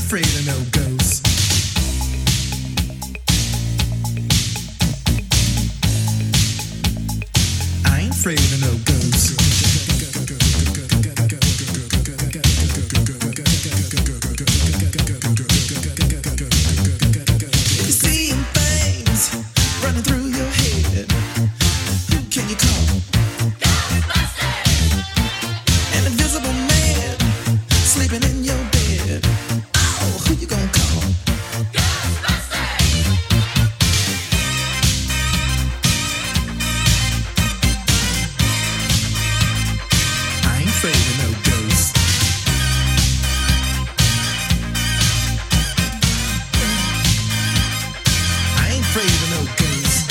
afraid of no ghosts. I ain't afraid of no ghosts. You're seeing things running through your head. Who can you call? Ghostbusters! An invisible man sleeping in your bed. Oh, who you gonna call? Ghostbusters! I ain't afraid of no ghosts. I ain't afraid of no ghosts.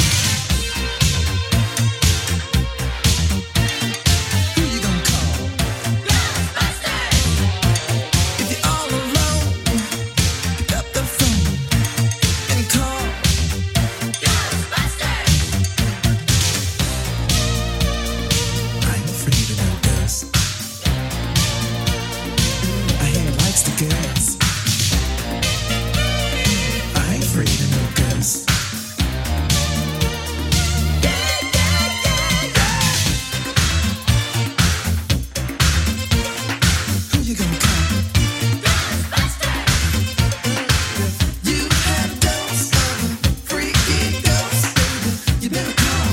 Who you gonna call? Ghostbusters! If you're all alone, pick up the phone and call Ghostbusters! I ain't afraid of no ghosts. I hear he likes the girls. I ain't afraid of no ghosts. Who you gonna call? You had dose of a freaky ghost, baby. You better call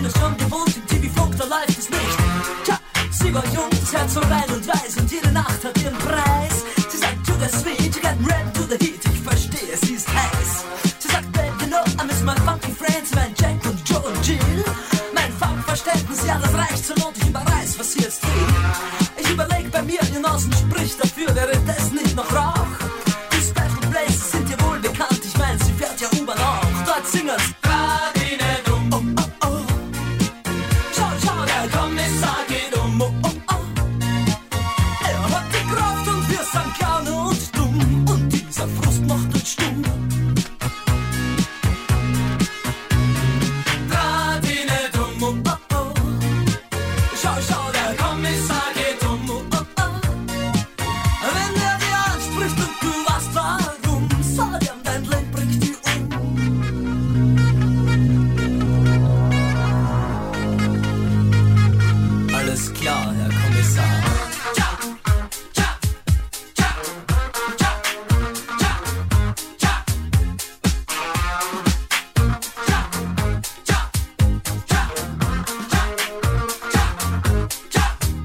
es schon gewohnt, im TV flog, da läuft es nicht. Tja, sie war jung, das Herz so rein und weiß und jede Nacht hat ihren Preis. Sie sagt, to the sweet, you get ready to the heat, ich verstehe, sie ist heiß. Sie sagt, babe, you know, I miss my funky friends, mein Jack und Joe und Jill. Mein Farbverständnis, ja, das reicht zur Not, ich überreiß, was sie jetzt will. Ich überleg bei mir, ihr Nasen spricht dafür, wäre das nicht noch Rauch? Die Special Places sind dir wohl bekannt, ich mein, sie fährt ja U-Bahn auch. Dort singen's Radine dumm, oh, oh, oh. Schau, schau, der Kommissar geht um, oh, oh, oh. Er hat die Kraft und wir sind klein und dumm und dieser Frust macht uns stumm. Radine dumm, oh, oh, oh. Schau, schau, der Kommissar geht um, oh, oh, oh. Wenn er dir anspricht und du weißt warum, sag ihm, dein Leben bringt dich um. Alles klar, Herr Kommissar. Tja, tja, tja, tja, tja, tja, tja. Tja, tja, tja, tja, tja, tja.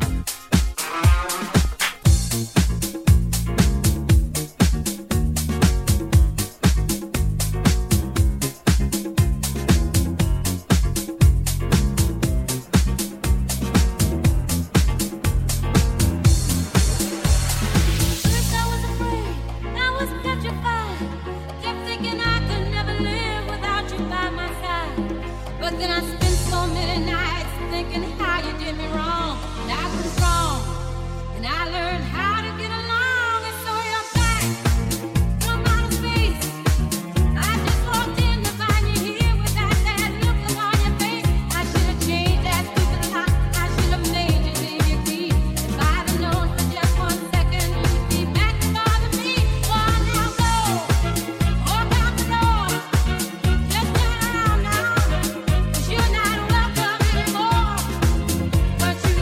First I was afraid, I was petrified, kept thinking I could never live without you by my side. But then I spent so many nights thinking how you did me wrong, and I was wrong, and I learned how to get along, and so you're back from outer space. I just walked in to find you here with that sad look on your face. I should have changed that stupid lock, I should have made you leave your key. If I'd have known for just 1 second you'd be back to bother me. Well, now go, walk out the door, just turn around now, 'cause you're not welcome anymore. But you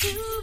you.